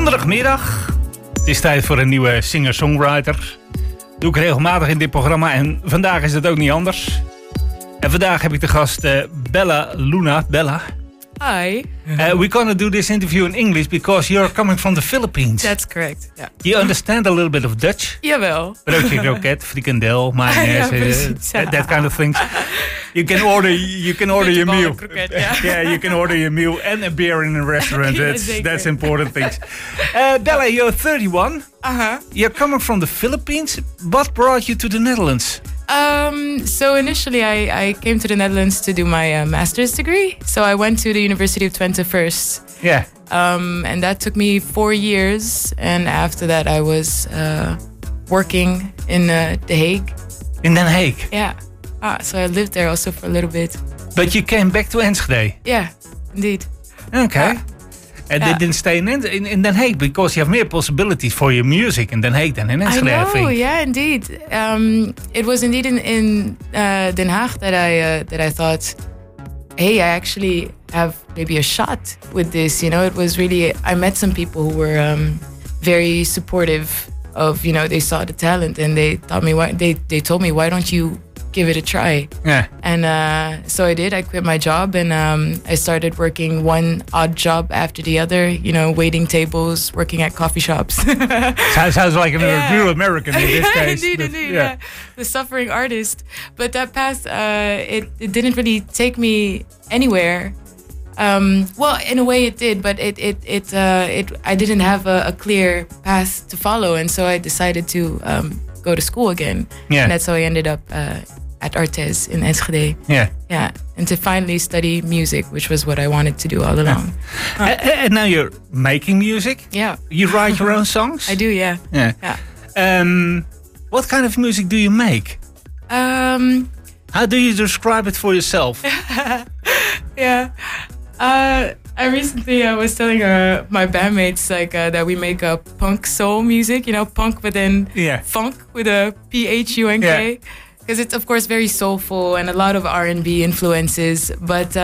Donderdagmiddag. Het is tijd voor een nieuwe singer-songwriter. Doe ik regelmatig in dit programma en vandaag is het ook niet anders. En vandaag heb ik de gast Bella Luna. Bella. Hi. We're gonna do this interview in English because you're coming from the Philippines. That's correct. Yeah. You understand a little bit of Dutch? Jawel. Broodje kroket, frikandel, mayonaise, that kind of things. You can order your meal. Kroket, yeah. Yeah, you can order your meal and a beer in a restaurant. That's important things. Bella, you're 31. You're coming from the Philippines. What brought you to the Netherlands? So initially I came to the Netherlands to do my master's degree. So I went to the University of Twente first. Yeah. And that took me 4 years. And after that I was working in The Hague. In Den Haag? Yeah. So I lived there also for a little bit. But you came back to Enschede? Yeah, indeed. Okay. And they didn't stay in Den Haag because you have more possibilities for your music in Den Haag than in Enschede, I think. Yeah, indeed. It was indeed in Den Haag that I thought, hey, I actually have maybe a shot with this. You know, it was really, I met some people who were very supportive of, you know, they saw the talent and they told me, why don't you give it a try? Yeah. And so I did. I quit my job and I started working one odd job after the other, you know, waiting tables, working at coffee shops. Sounds like a real American in this case. Indeed, yeah. The suffering artist. But that path, it didn't really take me anywhere. Well, in a way it did, but I didn't have a clear path to follow. And so I decided to go to school again. Yeah. And that's how I ended up at Artes in Enschede. Yeah. Yeah. And to finally study music, which was what I wanted to do all along. And now you're making music? Yeah. You write your own songs? I do, yeah. Yeah. Yeah. What kind of music do you make? How do you describe it for yourself? Yeah. I recently was telling my bandmates that we make punk soul music, you know, punk within funk with a PHUNK. Because it's of course very soulful and a lot of R&B influences. But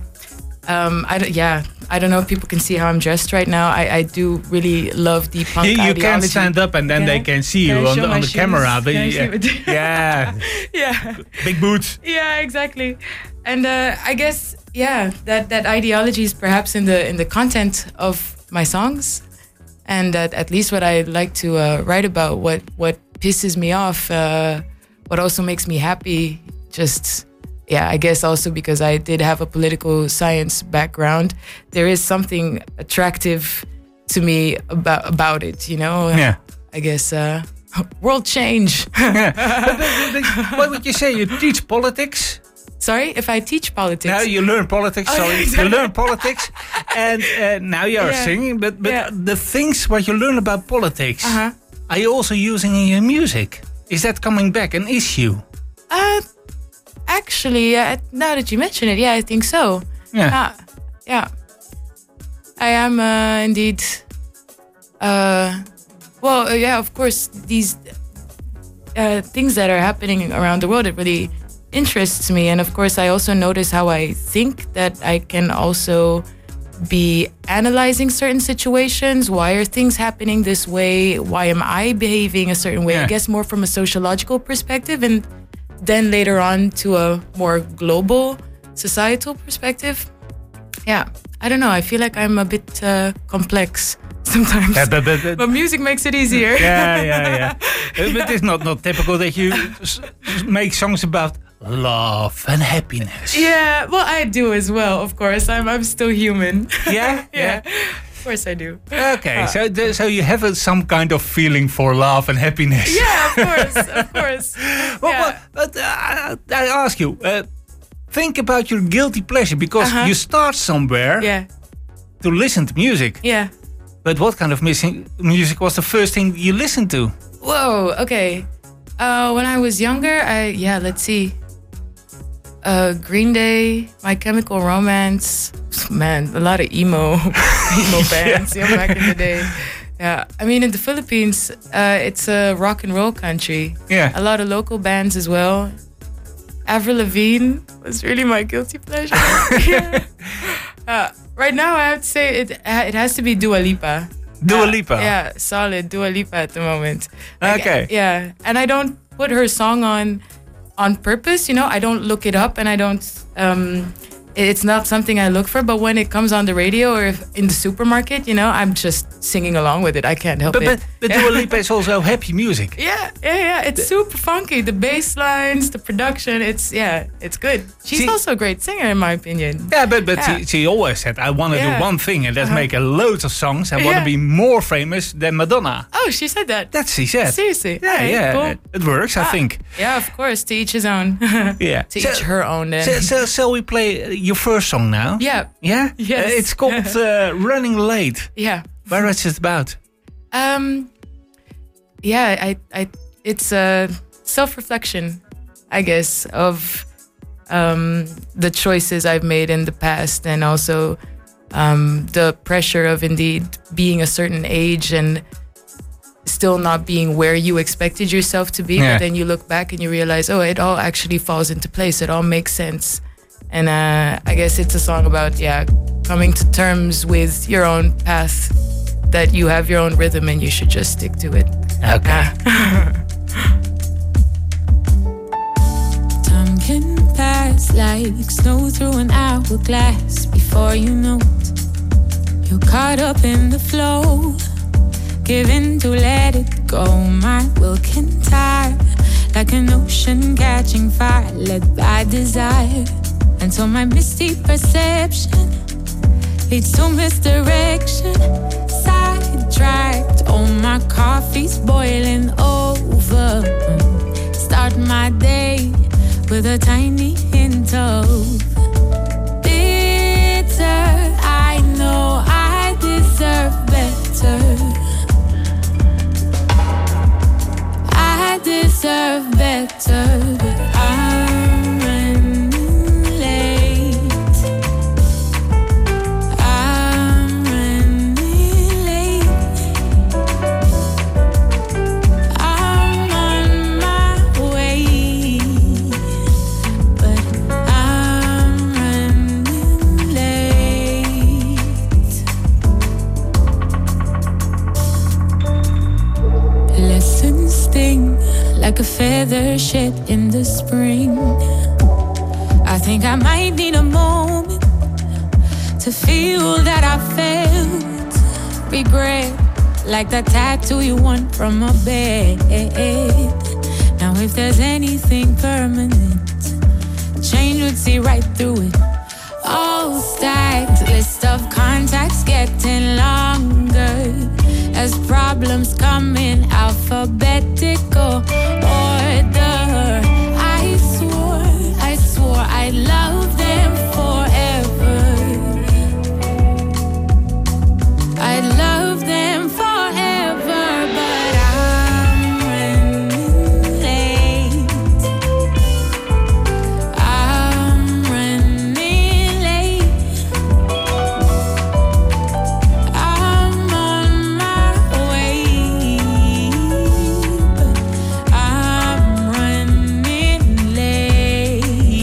I don't know if people can see how I'm dressed right now. I do really love the punk you ideology. can stand up and then they can see you on the camera. But yeah. Big boots. Yeah, exactly. And I guess that ideology is perhaps in the content of my songs, and that at least what I like to write about, what pisses me off, what also makes me happy. Just I guess also because I did have a political science background, there is something attractive to me about it. You know. Yeah. I guess world change. But what would you say? You teach politics? Sorry, if I teach politics. No, you learn politics. Sorry, exactly. You learn politics, and now you are singing. But the things what you learn about politics, are you also using in your music? Is that coming back an issue? Actually, now that you mention it, I think so. Yeah. I am indeed. Of course, these things that are happening around the world, it really interests me. And of course, I also notice how I think that I can also be analyzing certain situations. Why are things happening this way? Why am I behaving a certain way? I guess more from a sociological perspective, and then later on to a more global societal perspective. Yeah, I don't know. I feel like I'm a bit complex sometimes. But music makes it easier. Yeah. But it's not typical that you make songs about love and happiness. Yeah, well, I do as well, of course. I'm still human. Yeah? Of course I do. Okay, so you have some kind of feeling for love and happiness. Yeah, of course. But I ask you, think about your guilty pleasure, because you start somewhere to listen to music. Yeah. But what kind of music was the first thing you listened to? Whoa, okay. When I was younger, let's see. Green Day, My Chemical Romance. Man, a lot of emo bands back in the day. Yeah, I mean, in the Philippines, it's a rock and roll country. Yeah. A lot of local bands as well. Avril Lavigne was really my guilty pleasure. Right now, I have to say it has to be Dua Lipa. Dua Lipa. Yeah, solid Dua Lipa at the moment. Okay. Yeah, and I don't put her song on purpose. I don't look it up, and I don't. It's not something I look for, but when it comes on the radio or if in the supermarket, I'm just singing along with it. I can't help it. But Dua Lipa is also happy music. Yeah. It's super funky. The bass lines, the production, it's good. She's also a great singer, in my opinion. Yeah, but she always said, I want to do one thing, and that's make loads of songs. I want to be more famous than Madonna. Oh, she said that? That's she said. Seriously? Yeah. Cool. It works, I think. Yeah, of course. To each his own. Yeah. To each her own, then. So we play your first song now? Yeah. Yeah? Yes. It's called Running Late. Yeah. Where is it about? It's a self-reflection, I guess, of the choices I've made in the past, and also the pressure of indeed being a certain age and still not being where you expected yourself to be. Yeah. But then you look back and you realize, oh, it all actually falls into place. It all makes sense. And I guess it's a song about, coming to terms with your own path, that you have your own rhythm and you should just stick to it. Okay. Time can pass like snow through an hourglass. Before you know it, you're caught up in the flow, giving to let it go. My will can tire like an ocean catching fire, led by desire, until my misty perception leads to misdirection. Sidetracked, oh, my coffee's boiling over. Start my day with a tiny hint of bitter. I know I deserve better. I deserve better, but I'm running late. I'm running late. I'm on my way, but I'm running late. Lessons sting like a feather shed in the spring. I think I might need a moment to feel that I felt regret, like that tattoo you want from a bed. Now if there's anything permanent, change would see right through it. All stacked, list of contacts getting longer as problems come in alphabetical order. I swore I'd love them forever. I'd love them forever, but I'm running late. I'm running late. I'm on my way, but I'm running late.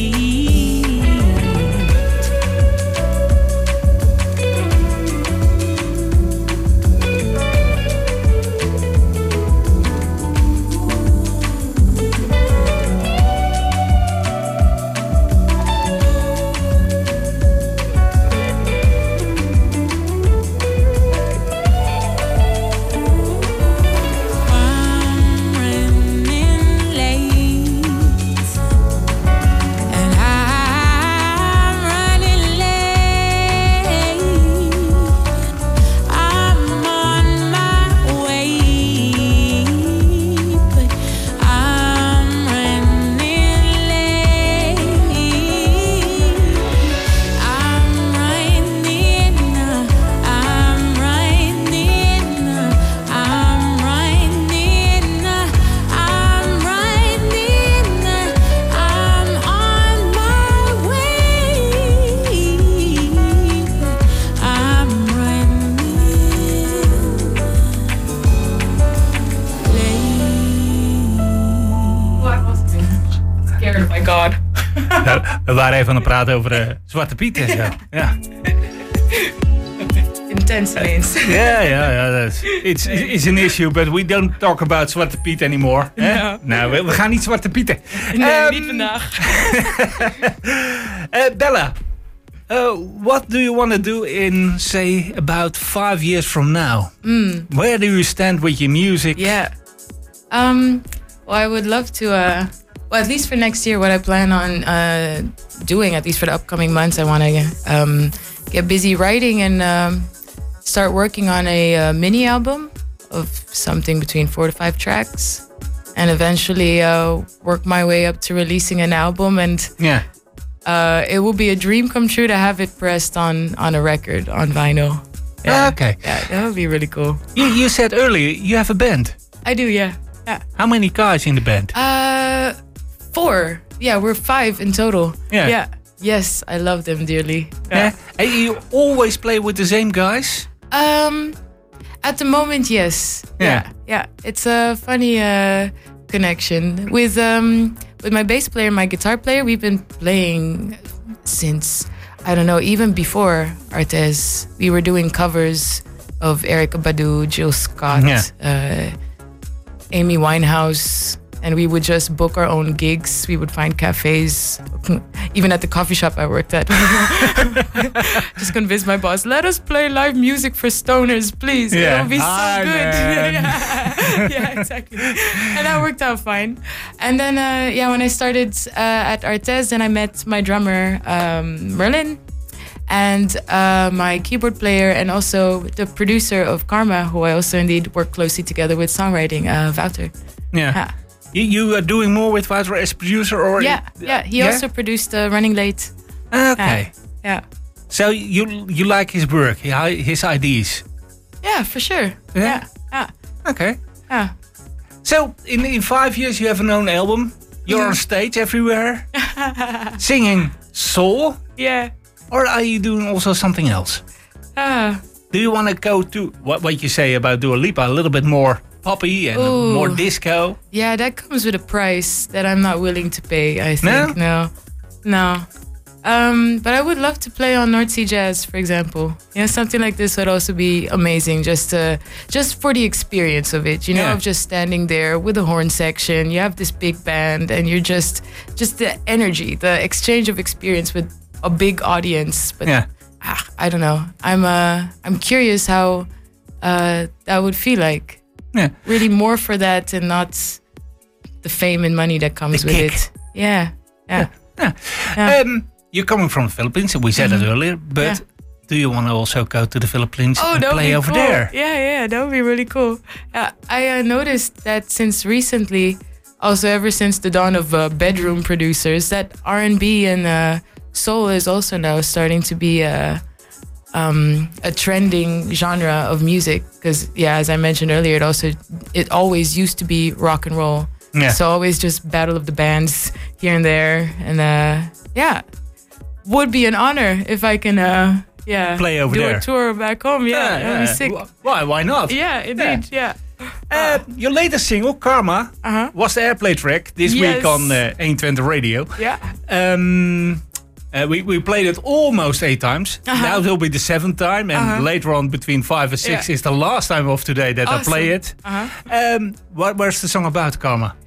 I'm running late, and I'm running late. I'm on my way, but I'm running late. I'm running, I'm running, I'm running, I'm running, I'm on my way, but I'm running late. What was it? Scared, oh my god. We waren even aan het praten over Zwarte Piet en zo. Ja. Intense. sense ineens. Ja. It's an issue, but we don't talk about Zwarte Piet anymore. No. Nou, we gaan niet Zwarte Pieten. Nee, niet vandaag. Bella, what do you want to do in, say, about 5 years from now? Where do you stand with your music? Yeah. Well, I would love to, well, at least for next year, what I plan on doing, at least for the upcoming months, I want to get busy writing and start working on a mini album of something between 4 to 5 tracks. And eventually work my way up to releasing an album. And it will be a dream come true to have it pressed on a record, on vinyl. Yeah. Okay. Yeah, that would be really cool. You said earlier you have a band. I do, yeah. How many guys in the band? 4. Yeah, we're 5 in total. Yeah. Yes, I love them dearly. Yeah. And you always play with the same guys? At the moment, yes. Yeah. It's a funny connection with my bass player and my guitar player. We've been playing since, I don't know, even before Artes. We were doing covers of Erykah Badu, Jill Scott, Amy Winehouse, and we would just book our own gigs. We would find cafes, even at the coffee shop I worked at. Just convince my boss, let us play live music for stoners, please. It'll be so good. Yeah, exactly. And that worked out fine. And then, when I started at Artes, then I met my drummer, Merlin, and my keyboard player, and also the producer of Karma, who I also indeed work closely together with songwriting, Wouter. Yeah. You are doing more with Wouter as producer, or He also produced Running Late. Okay. Yeah. So you like his work, his ideas? Yeah, for sure. Yeah. Okay. Yeah. So in 5 years you have an own album. You're on stage everywhere, singing soul. Yeah. Or are you doing also something else? Do you want to go to what you say about Dua Lipa, a little bit more poppy and more disco? Yeah, that comes with a price that I'm not willing to pay, I think. No. But I would love to play on North Sea Jazz, for example. Something like this would also be amazing, just for the experience of it, of just standing there with the horn section. You have this big band, and you're just the energy, the exchange of experience with a big audience. But I don't know. I'm curious how that would feel like. Yeah. Really more for that and not the fame and money that comes with it. Yeah. You're coming from the Philippines, we said it earlier, but do you want to also go to the Philippines and play over there? Yeah, that would be really cool. I noticed that since recently, also ever since the dawn of bedroom producers, that R&B and soul is also now starting to be a trending genre of music, because as I mentioned earlier, it always used to be rock and roll. So always just battle of the bands here and there, and would be an honor if I can play over there, do a tour back home. That'd be sick. Why not? Yeah, indeed. Your latest single, Karma, was the airplay track this week on 120 Radio. We played it almost 8 times. Now it will be the 7th time, and later on between 5 and 6 is the last time of today that I play it. Where's the song about, Karma?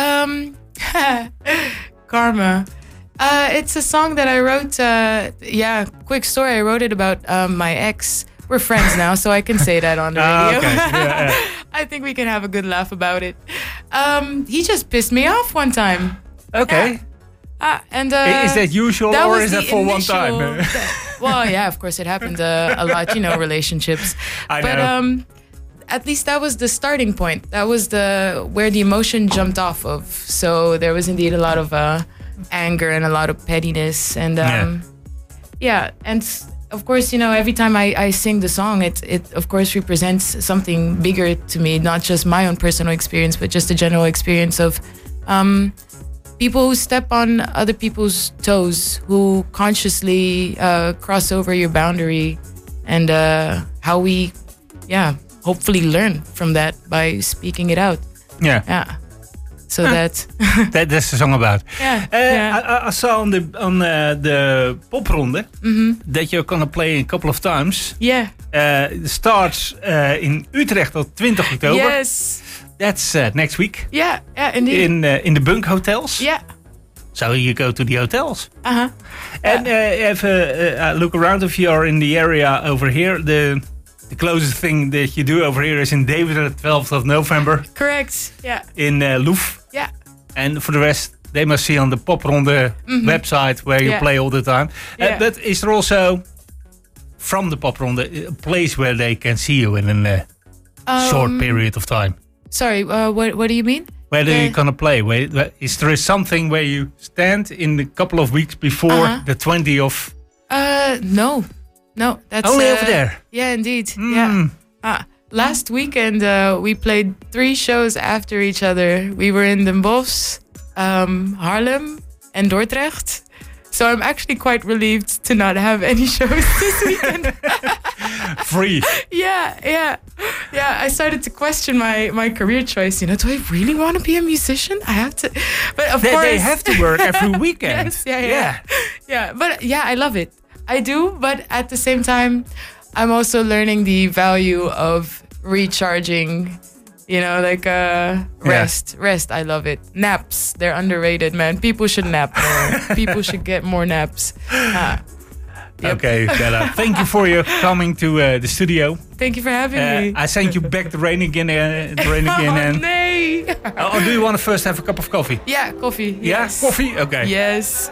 Karma. It's a song that I wrote. Quick story. I wrote it about my ex. We're friends now, so I can say that on the radio. Okay. I think we can have a good laugh about it. He just pissed me off one time. Okay. And is that usual, or is that for one time? Well, yeah, of course it happened a lot, relationships. I know. But at least that was the starting point. That was where the emotion jumped off of. So there was indeed a lot of anger and a lot of pettiness, and and of course, every time I sing the song, it of course represents something bigger to me, not just my own personal experience, but just a general experience of people who step on other people's toes, who consciously cross over your boundary, and how we, hopefully learn from that by speaking it out. So that's That's the song about. yeah. I saw on the popronde that you're gonna play a couple of times. Yeah. It starts in Utrecht on 20 October. Yes. That's next week. Yeah. Yeah. Indeed. In the bunk hotels. Yeah. So you go to the hotels. Uh-huh. And if a look around, if you're in the area over here, the closest thing that you do over here is in Deventer, 12th of November. Correct. Yeah. In Loef. Yeah. And for the rest, they must see on the Popronde website where you play all the time. Yeah. But is there also, from the Popronde, a place where they can see you in a short period of time? Sorry, what do you mean? Where are you gonna play? Is there something where you stand in a couple of weeks before the 20th of? No, that's only over there. Yeah, indeed. Yeah. Last weekend we played 3 shows after each other. We were in Den Bosch, Haarlem, and Dordrecht. So I'm actually quite relieved to not have any shows this weekend. Free. Yeah. I started to question my career choice. You know, do I really want to be a musician? I have to, but of course they have to work every weekend. Yes, yeah. But yeah, I love it. I do, but at the same time, I'm also learning the value of recharging. You know, like rest. I love it. Naps, they're underrated, man. People should nap more. People should get more naps. Yep. Okay, Bella. Thank you for your coming to the studio. Thank you for having me. I sent you back the rain again. And nee. Or do you want to first have a cup of coffee? Yeah, coffee. Yeah, Yes. coffee? Okay. Yes.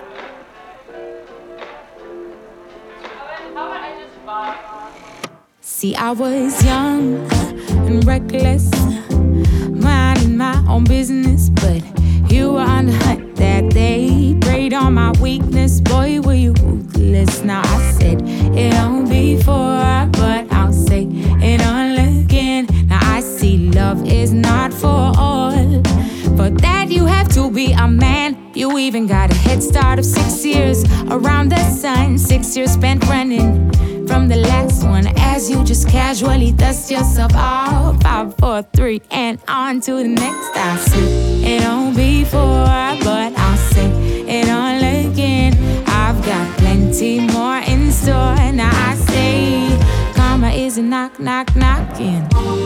See, I was young and reckless, minding my own business, but you were on the hunt that day. Preyed on my weakness, boy, were you ruthless. Now I said it on before, but I'll say it all again. Now I see love is not for all. For that you have to be a man. You even got a head start of 6 years around the sun. 6 years spent running from the last one, as you just casually dust yourself off. 5, 4, 3, and on to the next. I see it on before, but I'll say it all again. I've got plenty more in store. Now I say karma is a knock, knock, knocking.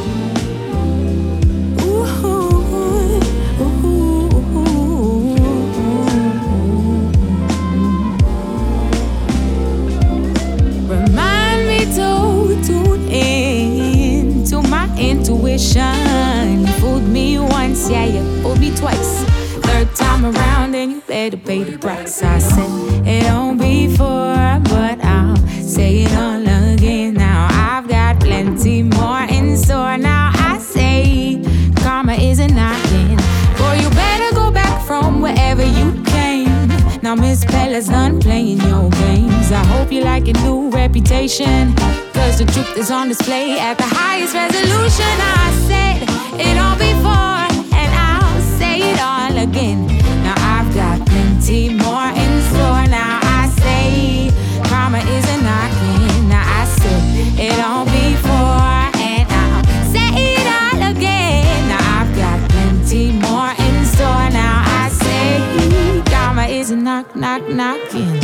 Tune in to my intuition. You fooled me once, yeah, you fooled me twice. Third time around, and you better pay the price. I said it on before, but I'll say it all again. Now I've got plenty more in store. Now I say karma isn't knocking. Boy, you better go back from wherever you came. Now Miss Bella's done playing your games. I hope you like your new reputation, cause the truth is on display at the highest resolution. I said it all before, and I'll say it all again. Now I've got plenty more in store. Now I say karma isn't knocking. Now I said it all before, and I'll say it all again. Now I've got plenty more in store. Now I say karma isn't knock, knock, knocking.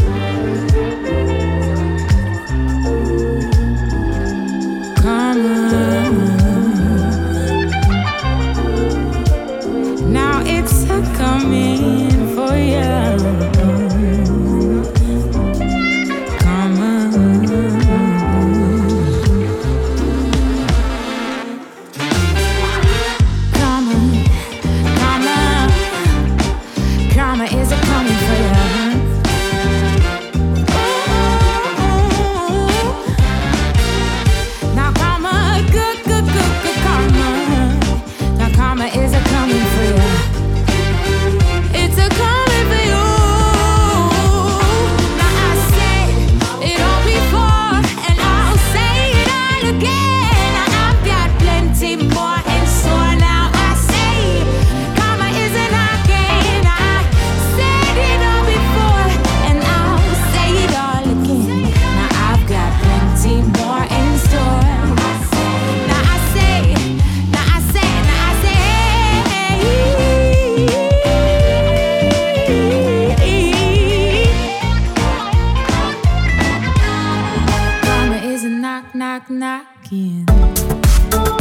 Now it's a coming. knocking.